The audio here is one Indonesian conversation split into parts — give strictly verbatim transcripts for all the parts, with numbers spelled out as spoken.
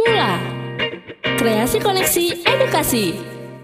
Mula Kreasi Koneksi Edukasi.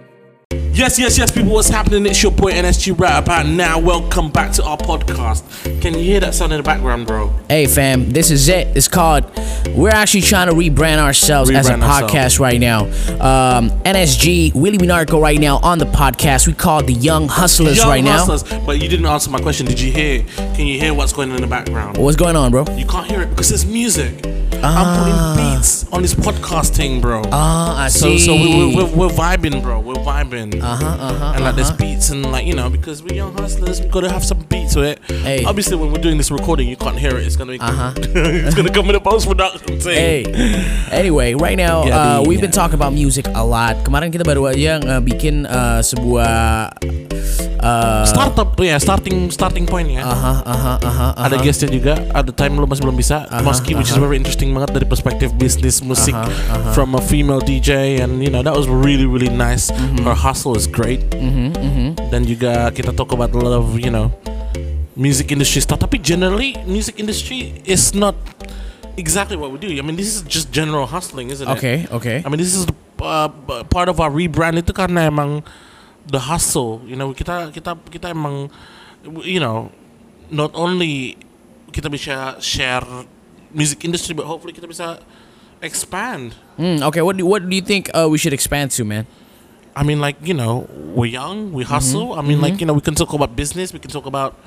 Yes, yes, yes, people, what's happening? It's your boy N S G right about now. Welcome back to our podcast. Can you hear that sound in the background, bro? Hey, fam, this is it. It's called, we're actually trying to rebrand ourselves rebrand as a podcast ourselves. right now. Um, N S G, Willie Minarco right now on the podcast. We call it the Young Hustlers Young right Hustlers. now. But you didn't answer my question. Did you hear? Can you hear what's going on in the background? What's going on, bro? You can't hear it because it's music. Ah. I'm putting beats on this podcast thing, bro. Ah, I so, see. So we, we're, we're, we're vibing, bro. We're vibing. Uh-huh, uh-huh, and like uh-huh. there's beats and like, you know, because we're young hustlers, we gotta have some beats to it. Hey. Obviously, when we're doing this recording, you can't hear it. It's gonna be, Uh-huh. it's gonna come in the post production thing. Hey, anyway, right now Yeah, uh, di- we've been yeah. talking about music a lot. Kemarin kita baru aja uh, bikin uh, sebuah uh, Startup, ya, starting starting point ya. uh-huh, uh-huh, uh-huh, uh-huh. Ada guestnya juga. At the time lo masih belum bisa. Uh-huh, Moski, which is uh-huh. very interesting banget dari perspektif bisnis musik Uh-huh, uh-huh. from a female D J, and you know that was really really nice. Mm-hmm. Her hustle is great. Mhm, mhm. Dan juga kita talk about a lot of, you know, music industry stuff. Tapi generally music industry is not exactly what we do. I mean, this is just general hustling, isn't it? Okay, okay. I mean, this is the, uh, part of our rebrand itu karena emang the hustle. You know, kita kita kita emang, you know, not only kita bisa share music industry, but hopefully kita bisa expand. Mm, okay, what do, what do you think uh, we should expand to, man? I mean, like, you know, we're young, we hustle. Mm-hmm. I mean, like, you know, we can talk about business. We can talk about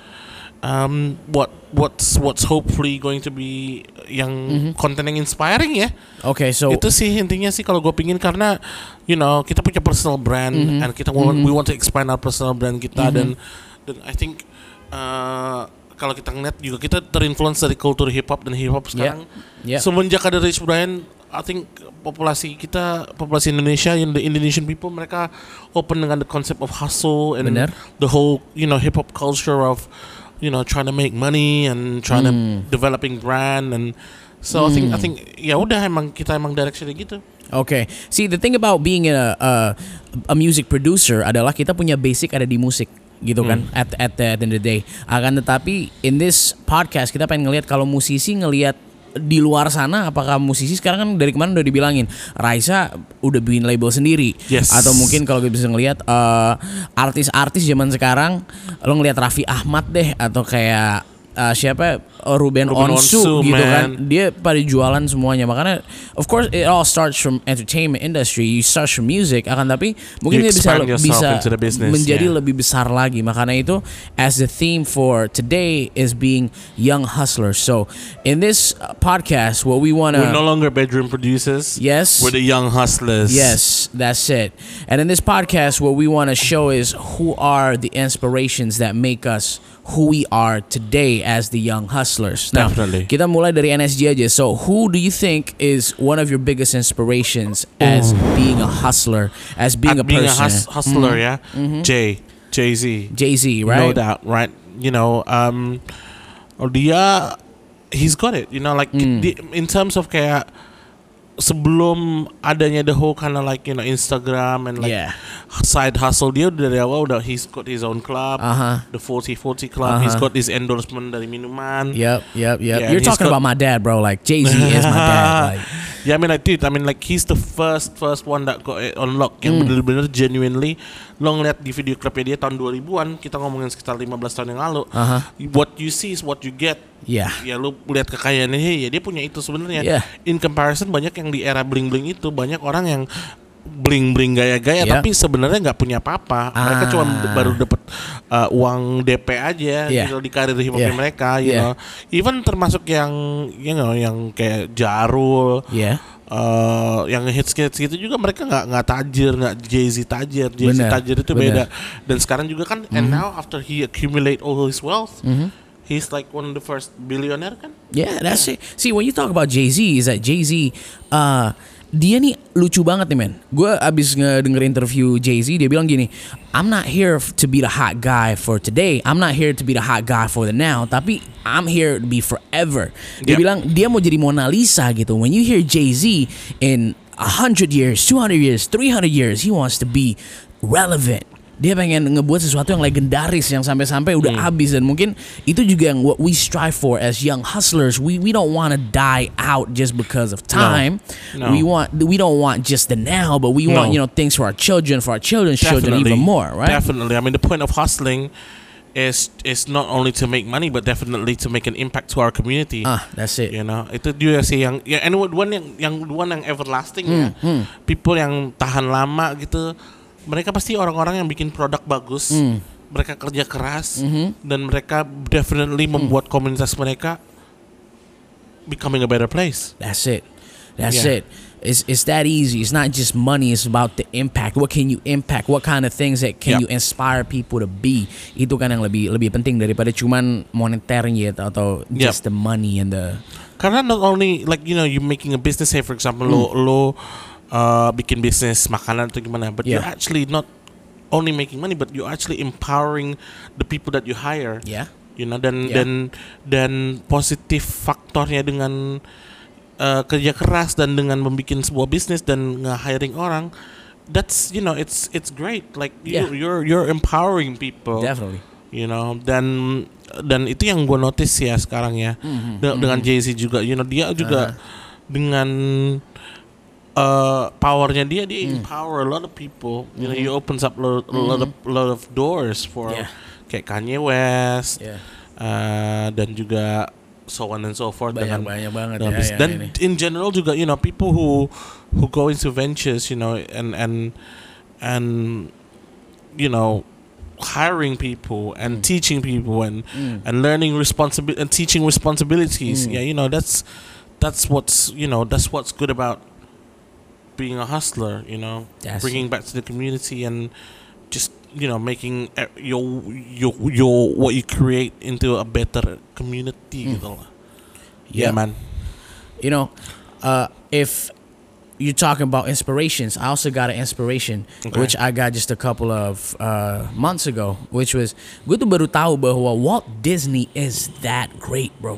um, what what's what's hopefully going to be yang Mm-hmm. konten yang inspiring ya. Okay, so Itu sih intinya sih kalau gue pingin, karena you know kita punya personal brand Mm-hmm. and kita want, we want to expand our personal brand kita, dan dan I think uh, kalau kita ngeliat juga kita terinfluence dari kultur hip hop, dan hip hop sekarang yeah. semenjak ada Rich Brian, I think populasi kita, populasi Indonesia, in the Indonesian people, mereka open dengan the concept of hustle and Bener. the whole, you know, hip hop culture of, you know, trying to make money and trying to developing brand, and so I think I think ya udah emang kita emang directionnya gitu. Okay. See, the thing about being a, a a music producer adalah kita punya basic ada di musik, gitu kan? At at the, at the end of the day. Akan tetapi in this podcast kita pengen ngelihat kalau musisi ngelihat di luar sana, apakah musisi sekarang kan dari kemarin udah dibilangin Raisa udah bikin label sendiri. Yes. Atau mungkin kalau kita bisa ngelihat uh, artis-artis zaman sekarang, lo ngelihat Raffi Ahmad deh, atau kayak uh, siapa uh, Ruben, Ruben Onsu, Onsu, gitu man. kan, dia pada jualan semuanya. Makanya of course it all starts from entertainment industry, you start from music, akan tapi mungkin You dia bisa expand yourself bisa into the business, menjadi yeah. lebih besar lagi. Makanya itu as the theme for today is being young hustlers. So in this uh, podcast, what we wanna We're no longer bedroom producers. yes We're the young hustlers. Yes, that's it. And in this podcast, what we want to show is who are the inspirations that make us who we are today as the young hustlers. Now, Definitely. kita mulai dari N S G aja. So, who do you think is one of your biggest inspirations as being a hustler, as being At a being person? a hus- hustler, yeah. Jay, Jay Z, Jay-Z, no right? doubt, right? You know, um, dia, he's got it. You know, like di, in terms of kayak sebelum adanya the whole kind of like, you know, Instagram and like Yeah. side hustle, dia dari awal udah he's got his own club, Uh-huh. the forty forty club. He's Uh-huh. got his endorsement dari minuman. Yep, yep, yep. Yeah, You're he's talking got- about my dad, bro. Like Jay-Z is my dad. Like, Yeah, I mean, like, dude, I mean, like, he's the first first one that got it on lock, yang bener-bener genuinely. Lo ngeliat di video klipnya dia tahun dua ribuan, kita ngomongin sekitar lima belas tahun yang lalu. Uh-huh. What you see is what you get. yeah. Ya, lo lihat kekayaannya, hey, ya dia punya itu sebenarnya. Yeah. In comparison, banyak yang di era bling-bling itu, banyak orang yang bling-bling gaya-gaya, Yeah. tapi sebenarnya nggak punya apa-apa. Mereka Ah. cuma baru dapat uh, uang D P aja, Yeah. gitu, di karir hip hopnya Yeah. mereka, you Yeah. know. Even termasuk yang, you know, yang kayak Jarul. Yeah. Uh, yang hits-hits gitu juga mereka nggak nggak tajir, nggak Jay-Z tajir, Jay-Z Bener, tajir itu beda. bener. Dan sekarang juga kan, and now after he accumulate all his wealth, he's like one of the first billionaire kan. Yeah, that's it. See, when you talk about Jay-Z, is that Jay-Z, uh, dia nih lucu banget nih, men. Gue abis ngedenger interview Jay-Z, dia bilang gini, I'm not here f- to be the hot guy for today. I'm not here to be the hot guy for the now. Tapi I'm here to be forever. Dia Yep. bilang dia mau jadi Mona Lisa gitu. When you hear Jay-Z in a hundred years, two hundred years, three hundred years, he wants to be relevant. dia pengen ngebuat sesuatu yang legendaris yang sampai-sampai udah Hmm. habis, dan mungkin itu juga yang what we strive for as young hustlers. We we don't want to die out just because of time. No. We want we don't want just the now, but we No. want, you know, things for our children, for our children's children Definitely. even more, right? Definitely. I mean, the point of hustling is is not only to make money, but definitely to make an impact to our community. Ah, that's it. You know, itu dia sih yang, ya, and one yang yang one yang everlasting ya. People yang tahan lama gitu, mereka pasti orang-orang yang bikin produk bagus. Mereka kerja keras dan mereka definitely membuat komunitas mereka becoming a better place. That's it. That's Yeah. it. It's it's that easy. It's not just money. It's about the impact. What can you impact? What kind of things that can Yep. you inspire people to be? Itu kan yang lebih lebih penting daripada cuman moneternya atau, atau just the money and the. Karena not only like, you know, you making a business, say for example lo lo uh, bikin bisnis makanan atau gimana, but you're Yeah. actually not only making money, but you're actually empowering the people that you hire. Yeah. You know, dan Yeah. dan dan positif faktornya dengan uh, kerja keras dan dengan membuat sebuah bisnis dan nge-hiring orang, that's, you know, it's it's great. Like you, Yeah. you're you're empowering people. Definitely. You know, dan dan itu yang gue notice ya sekarang ya. De- dengan Jay-Z juga, you know, dia juga dengan uh, powernya dia dia empower a lot of people. You know, he opens up lo- a lot of lot of doors for Yeah. kayak Kanye West, Yeah. uh, dan juga so on and so forth. Banyak dengan- banyak banget dengan ya, bis- ya, dan ini. in general juga, you know, people who who go into ventures, you know, and and and you know, hiring people and teaching people and and learning responsibility and teaching responsibilities. Yeah, you know, that's that's what's, you know, that's what's good about being a hustler. You know, That's bringing back to the community and just, you know, making uh, your your your what you create into a better community. Gitu lah. Yeah, Yeah. man. You know, uh, if you're talking about inspirations, I also got an inspiration Okay. which I got just a couple of uh, months ago, which was gue tuh baru tahu bahwa Walt Disney is that great, bro.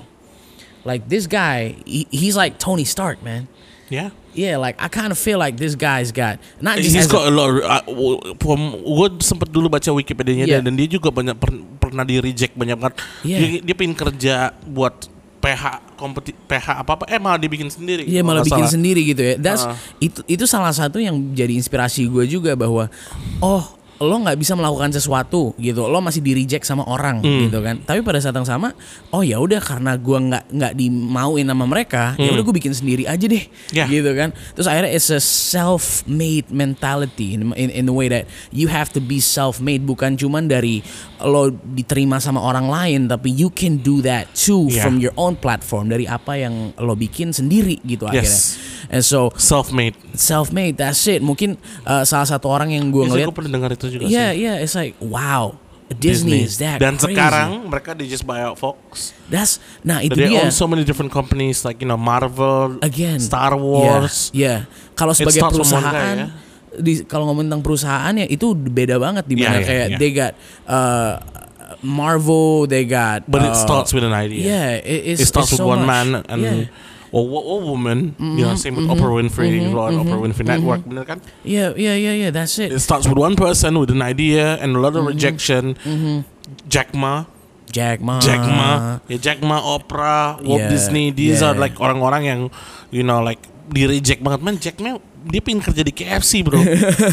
Like this guy, he, he's like Tony Stark, man. Yeah. Yeah, like I kind of feel like this guy's got not just He's as got a, a lot. Of, uh, from gue sempat dulu baca Wikipedia-nya Yeah. dan dia juga banyak per, pernah di reject banyak banget. Yeah. Dia, dia pengen kerja buat P H kompeti P H apa apa, eh malah dibikin sendiri. Iya, kalau malah nggak bikin salah. sendiri gitu ya. That's Ah. itu itu salah satu yang jadi inspirasi gue juga bahwa oh lo nggak bisa melakukan sesuatu gitu, lo masih di reject sama orang Hmm. gitu kan. Tapi pada saat yang sama, oh ya udah karena gue nggak nggak dimauin sama mereka, ya udah gue bikin sendiri aja deh, Hmm. Yeah. gitu kan. Terus akhirnya it's a self-made mentality in, in in the way that you have to be self-made, bukan cuman dari lo diterima sama orang lain, tapi you can do that too Yeah. from your own platform, dari apa yang lo bikin sendiri gitu akhirnya. Yes. And so Self-made. self-made, that's it. Mungkin uh, salah satu orang yang gue Yes, ngeliat, gue pernah dengar itu juga yeah, sih. yeah, it's like wow, Disney, is that Dan crazy. sekarang mereka di just buy out Fox. That's nah itu They dia. own so many different companies like, you know, Marvel, Again, Star Wars. Yeah, yeah. Kalau It sebagai starts from one guy, perusahaan, ya. di kalau ngomong tentang perusahaan ya itu beda banget di mana Yeah, yeah, kayak yeah. they got uh, Marvel, they got. But it uh, starts with an idea. Yeah, it, it's, It starts it's with so one much. man and yeah. or, or woman. You know, same with Oprah Winfrey, mm-hmm, Oprah Winfrey Network, bener kan? yeah, yeah, yeah, yeah. That's it. It starts with one person with an idea and a lot of rejection. Jack Ma, Jack Ma. Jack Ma, ya Jack Ma, Oprah, Walt Yeah, Disney. These yeah. are like orang-orang yang, you know, like di reject banget. Man, Jack Ma dia pengen kerja di K F C, bro.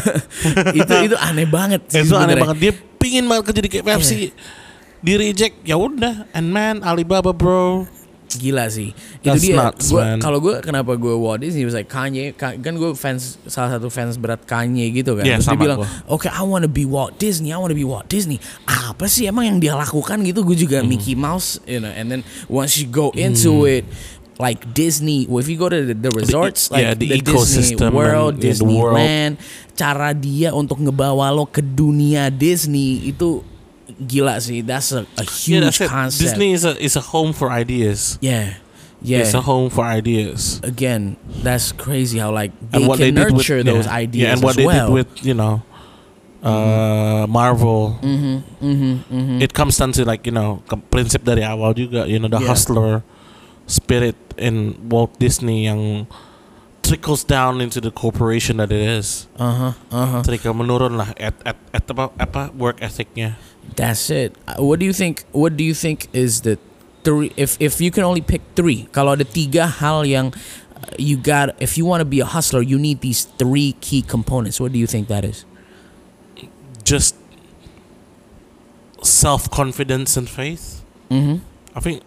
itu itu aneh banget sih Itu aneh sebenarnya. banget. Dia pingin banget kerja di K F C. Di reject, ya udah. And man, Alibaba, bro. Gila sih. That's Itu dia. nuts, Gua- man. Kalau gue kenapa gue Walt Disney was like Kanye, Ka- kan gue fans salah satu fans berat Kanye gitu kan. Yeah, Terus dia sama bilang, gua. "Oke, I wanna be Walt Disney. I wanna be Walt Disney." Apa sih emang yang dia lakukan gitu? Gue juga Mickey Mouse, you know. And then once you go into it, like Disney, well, if you go to the, the resorts, like yeah, the Disney ecosystem World, and, yeah, the world. Disneyland, cara dia untuk ngebawa lo ke dunia Disney itu gila sih. That's a, a Yeah, huge that's it. concept. Disney is a is a home for ideas. Yeah. Yeah. It's a home for ideas. Again, that's crazy how like they And what can they did with, nurture those yeah, ideas yeah, and what as they well. did with, you know, uh, Marvel. It comes down to like, you know, ke- prinsip dari awal juga, you know, the Yeah. hustler spirit in Walt Disney yang trickles down into the corporation that it is. Uh huh. Uh huh. Ketika menurun lah at at, at apa apa work ethicnya. That's it. Uh, What do you think? What do you think is the three? If if you can only pick three, kalau ada tiga hal yang uh, you got, if you want to be a hustler, you need these three key components. What do you think that is? Just self confidence and faith. Mm-hmm. I think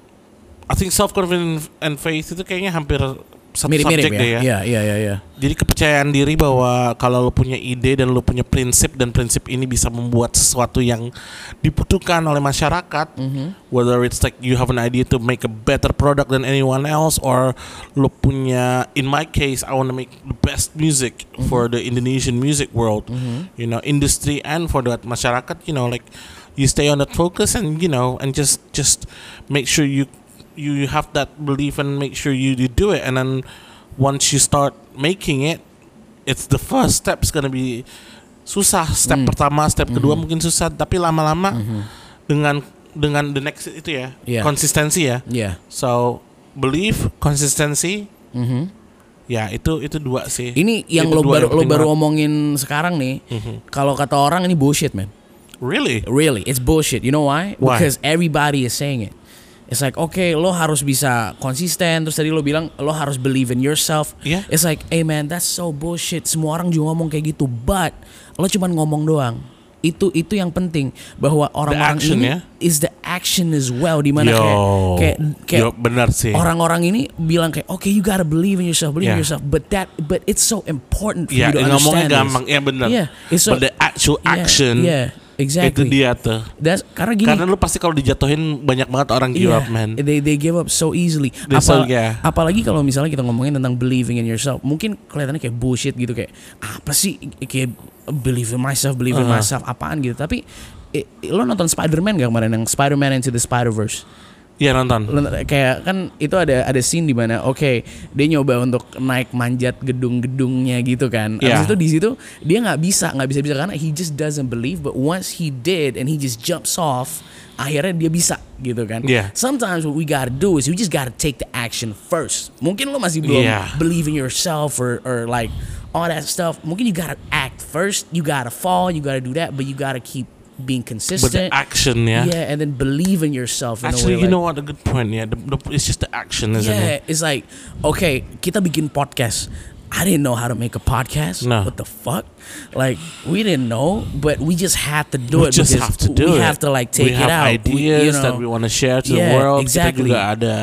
I think self confidence and faith itu kayaknya hampir satu Mirip-mirip subjek ya. deh ya. Yeah, yeah, yeah, yeah. Jadi kepercayaan diri bahwa kalau lo punya ide dan lo punya prinsip dan prinsip ini bisa membuat sesuatu yang dibutuhkan oleh masyarakat, Mm-hmm. whether it's like you have an idea to make a better product than anyone else, or lo punya, in my case, I want to make the best music Mm-hmm. for the Indonesian music world, you know, industry and for that masyarakat, you know, like you stay on that focus and you know and just just make sure you you have that belief and make sure you, you do it, and then once you start making it, it's the first step's gonna be susah. Step Mm. pertama, step kedua Mhm. mungkin susah, tapi lama-lama Mhm. dengan dengan the next itu ya, Yeah. konsistensi ya. Yeah. So belief, konsistensi, Mm-hmm. ya itu itu dua sih. Ini yang Itu lo dua baru yang lo penting baru banget. omongin sekarang nih. Mhm. Kalau kata orang ini bullshit, man. Really? Really, it's bullshit. You know why? Why? Because everybody is saying it. It's like, okay, lo harus bisa konsisten. Terus tadi lo bilang lo harus believe in yourself. Yeah. It's like, hey man, that's so bullshit. Semua orang juga ngomong kayak gitu, but lo cuman ngomong doang. Itu itu yang penting, bahwa orang-orang action, ini ya? is the action as well. Dimana Yo, kayak kayak kayak yo, benar sih. orang-orang ini bilang kayak, okay, you gotta believe in yourself, believe in Yeah. yourself. But that, but it's so important for Ya, you to ngomongnya understand this. gampang, ya benar. Yeah, it's so- But the actual Yeah, action, yeah, exactly. itu dia tuh. That's karena gini. Karena lu pasti kalau dijatuhin banyak banget orang give up, man. They they give up so easily. They so- Apa- yeah. Apalagi kalau misalnya kita ngomongin tentang believing in yourself, mungkin kelihatannya kayak bullshit gitu, kayak apa sih kayak believe in myself, believe in Uh-huh. myself, apaan gitu. Tapi eh, lo nonton Spider-Man gak kemarin, yang Spider-Man Into the Spider-Verse? Iya nonton. Lo- Kayak kan itu ada ada scene di mana oke dia nyoba untuk naik manjat gedung-gedungnya gitu kan. Yeah. Habis itu di situ dia nggak bisa nggak bisa bisa karena he just doesn't believe, but once he did and he just jumps off, akhirnya dia bisa gitu kan. Yeah. Sometimes what we gotta do is we just gotta take the action first. Mungkin lo masih belum Yeah. believe in yourself or or like all that stuff. Mungkin you gotta act first. You gotta fall. You gotta do that, but you gotta keep being But the consistent. action, ya. Yeah, and then believe in yourself. In Actually, a way, you like- know what? A good point. Yeah, the, the, it's just the action, isn't yeah, it? it's like, okay, kita bikin podcast. I didn't know how to make a podcast. No. What the fuck? Like, we didn't know, but we just had to do We it just because have to do we it. have to like take we it have out. ideas We- you know, that we want to share to Yeah, the world. exactly. Kita juga ada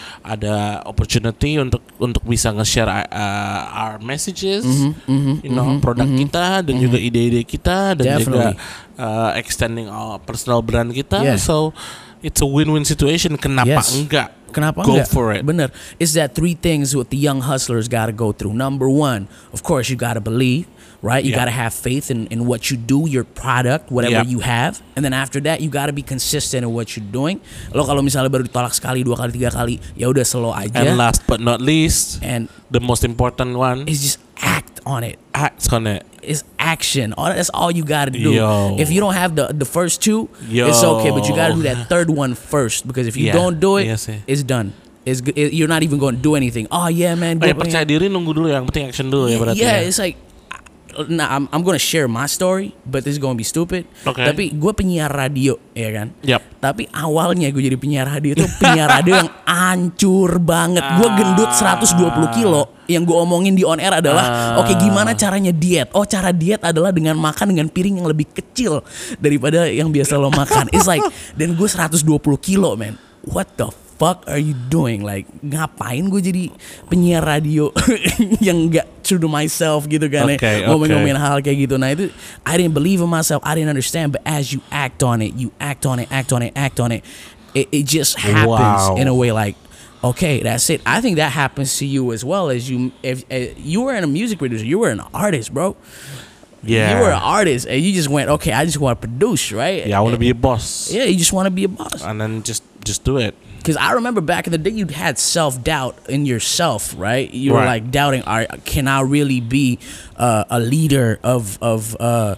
ada opportunity untuk untuk bisa nge-share uh, our messages, Mm-hmm, you know, produk kita dan juga ide-ide kita dan Definitely. juga uh, extending our personal brand kita. Yeah. So it's a win-win situation. Kenapa Yes. enggak? Kenapa Go enggak? for it. Bener. It's that three things what the young hustlers gotta go through. Number one, of course, you gotta believe, right? You Yeah. gotta have faith in, in what you do, your product, whatever Yeah. you have. And then after that, you gotta be consistent in what you're doing. Lo kalau misalnya baru ditolak sekali, dua kali, tiga kali, ya udah slow aja. And last but not least, And the most important one, it's just act on it. act on it. It's action. All that's all you gotta do. Yo. If you don't have the the first two, Yo. it's okay, but you gotta do that third one first, because if you Yeah. don't do it, Yes, eh. it's done. It's g- it, you're not even going to do anything. Oh yeah, man. Oh, ya, go- percaya diri, nunggu dulu, yang penting action dulu ya berarti. yeah, ya. it's like, nah, I'm I'm gonna share my story, but this is gonna be stupid. Okay. Tapi gue penyiar radio, ya kan. Yap. Tapi awalnya gue jadi penyiar radio itu penyiar radio yang hancur banget. Gue gendut seratus dua puluh kilo. Yang gue omongin di on air adalah, Ah. oke gimana caranya diet? Oh, cara diet adalah dengan makan dengan piring yang lebih kecil daripada yang biasa lo makan. It's like, dan gue seratus dua puluh kilo, man. What the fuck are you doing? Like, ngapain gue jadi penyiar radio yang gak true to myself gitu kan, ya. Okay, ngomong-ngomongin okay. hal kayak gitu. Nah itu, I didn't believe in myself, I didn't understand, but as you act on it, you act on it, act on it, act on it, it, it just happens Wow. in a way like, okay, that's it. I think that happens to you as well, as you, if, if you were in a music producer, you were an artist, bro. Yeah. You were an artist, and you just went, okay, I just want to produce, right? Yeah, I want to be a boss. Yeah, you just want to be a boss. And then just just do it. Because I remember back in the day, you had self doubt in yourself, right? You were Right. like doubting, "Are can I really be uh, a leader of of uh,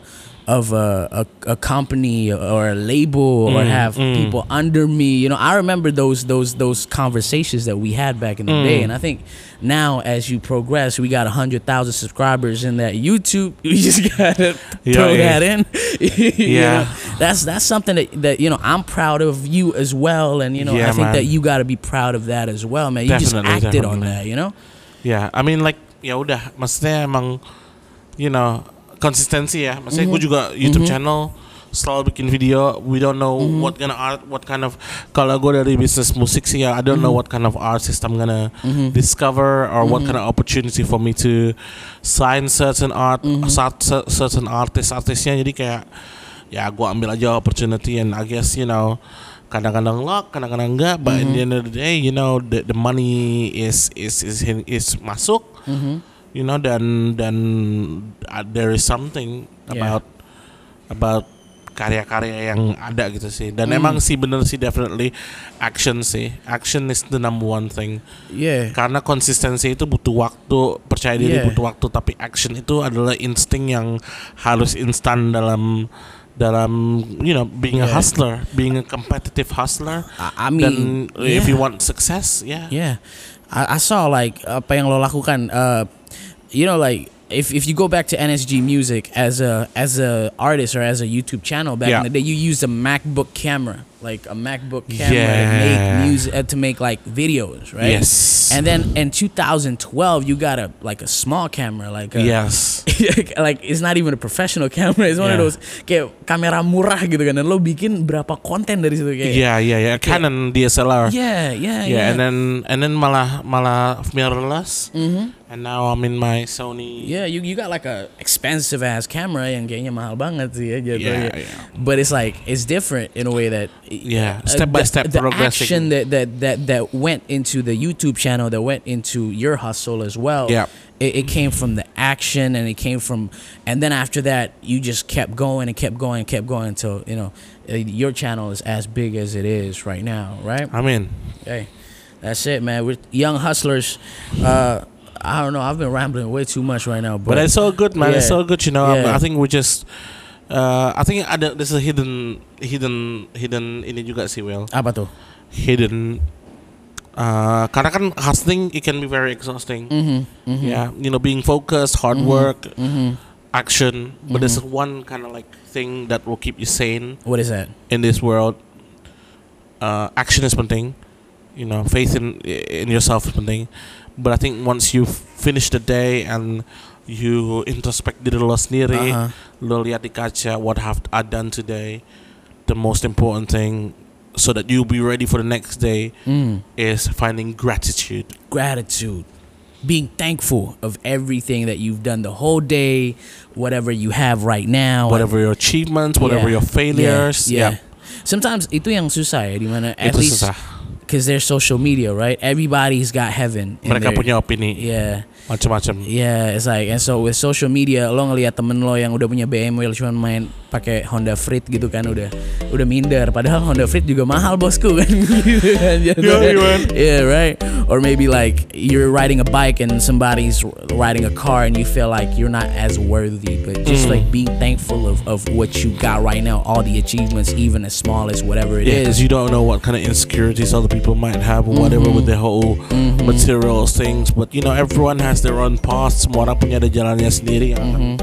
of a, a, a company or a label or Mm, have mm. people under me. You know, I remember those those those conversations that we had back in the day, Mm. and I think now as you progress, we got a hundred thousand subscribers in that YouTube. We just gotta Yeah, throw yeah. that in. You Yeah. know, that's that's something that, that you know I'm proud of you as well, and you know Yeah, I think man. that you got to be proud of that as well, man. You just Definitely, acted on definitely. that, you know. Yeah, I mean like ya udah, maksudnya emang you know konsistensi ya. Maksudnya gue juga YouTube channel selalu bikin video. We don't know what kind of art, what kind of. Kalau gue dari bisnis musik sih ya, I don't know what kind of artist I'm gonna discover or what kind of opportunity for me to sign certain art, cer- cer- certain artist artisnya. Jadi kayak ya gue ambil aja opportunity and I guess you know. Kadang-kadang luck, kadang-kadang enggak, but at the end of the day, you know, the the money is is is is masuk, you know, dan dan uh, there is something Yeah. about about karya-karya yang ada gitu sih. Dan emang sih bener sih definitely action sih, action is the number one thing. Yeah. Karena konsistensi itu butuh waktu, percaya diri Yeah. butuh waktu, tapi action itu adalah insting yang harus instan dalam dalam you know being a Yeah. hustler, being a competitive hustler. I, I mean, Dan if yeah. you want success, yeah. Yeah, I, I saw like apa yang lo lakukan. Uh, you know, like if if you go back to N S G Music as a as a artist or as a YouTube channel back Yeah. in the day, you used a MacBook camera, like a MacBook camera to make Yeah. music uh, to make like videos, right? Yes. And then in two thousand twelve, you got a like a small camera, like a, Yes. like it's not even a professional camera. It's one of Yeah. those kayak kamera murah gitu kan. Dan lo bikin berapa konten dari situ kayak. Yeah, yeah, yeah. Canon D S L R. Yeah, yeah, Yeah, yeah. and then and then malah malah mirrorless. And now I'm in my Sony. Yeah, you you got like a expensive ass camera yang kayaknya mahal banget sih ya jatuhnya. Yeah, yeah. But it's like it's different in a way that Yeah, uh, step by the- step the progressing. action that, that that that went into the YouTube channel, that went into your hustle as well. Yeah. It, it came from the action, and it came from, and then after that, you just kept going and kept going and kept going until you know uh, your channel is as big as it is right now, right? I mean, Hey, that's it, man. We're young hustlers. Uh, I don't know. I've been rambling way too much right now, but it's so good, man. It's Yeah. so good, you know. Yeah. I think we just. Uh, I think ada there's a hidden hidden hidden ini juga sih, Will. apa tuh? Hidden. Uh, karena kan hustling it can be very exhausting. Mm-hmm. Yeah, you know, being focused, hard work, action. But there's one kind of like thing that will keep you sane What is that? in this world. Uh, action is penting, you know, faith in in yourself is penting. But I think once you finish the day and you introspect diri lo sendiri, Uh-huh. lo lihat di kaca what have I done today, the most important thing, so that you'll be ready for the next day, Mm. is finding gratitude. Gratitude. Being thankful of everything that you've done the whole day, whatever you have right now. Whatever your achievements, whatever Yeah. your failures, Yeah, yeah, yeah. Sometimes itu yang susah ya, dimana at itu least susah. because there's social media, right? Everybody's got heaven. in Mereka their- punya opini, Yeah. macam-macam. Yeah, it's like, and so with social media, lo ngeliat temen lo yang udah punya B M W cuma main pakai Honda Freed gitu kan, udah udah minder. Padahal Honda Freed juga mahal bosku kan. Gitu kan. Yeah, man. Yeah, right. Or maybe like you're riding a bike and somebody's riding a car and you feel like you're not as worthy, but just Mm. like being thankful of, of what you got right now, all the achievements, even as small as whatever it Yeah, is. because you don't know what kind of insecurities other people might have or whatever with their whole materials things. But you know, everyone has their own path. Semua orang punya ada jalannya sendiri yang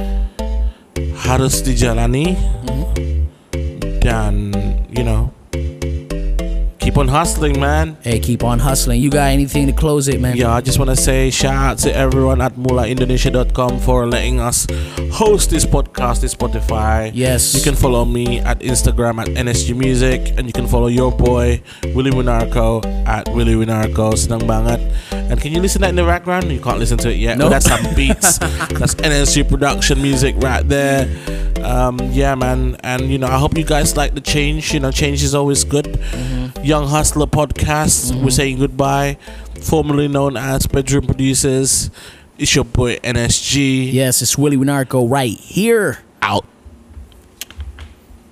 harus dijalani. Dan you know, keep on hustling, man. Hey, keep on hustling. You got anything to close it, man? Yeah, I just want to say shout out to everyone at mula indonesia dot com for letting us host this podcast, this Spotify. Yes. You can follow me at Instagram at N S G Music, and you can follow your boy Willie Winarco at Willie Winarco. Senang banget. And can you listen to that in the background? You can't listen to it yet. Nope. Oh, that's some beats. That's N S G production music right there. Um, yeah, man. And you know, I hope you guys like the change. You know, change is always good. Young Hustler Podcast. We're saying goodbye. Formerly known as Bedroom Producers. It's your boy N S G. Yes, it's Willie Winarco right here. Out.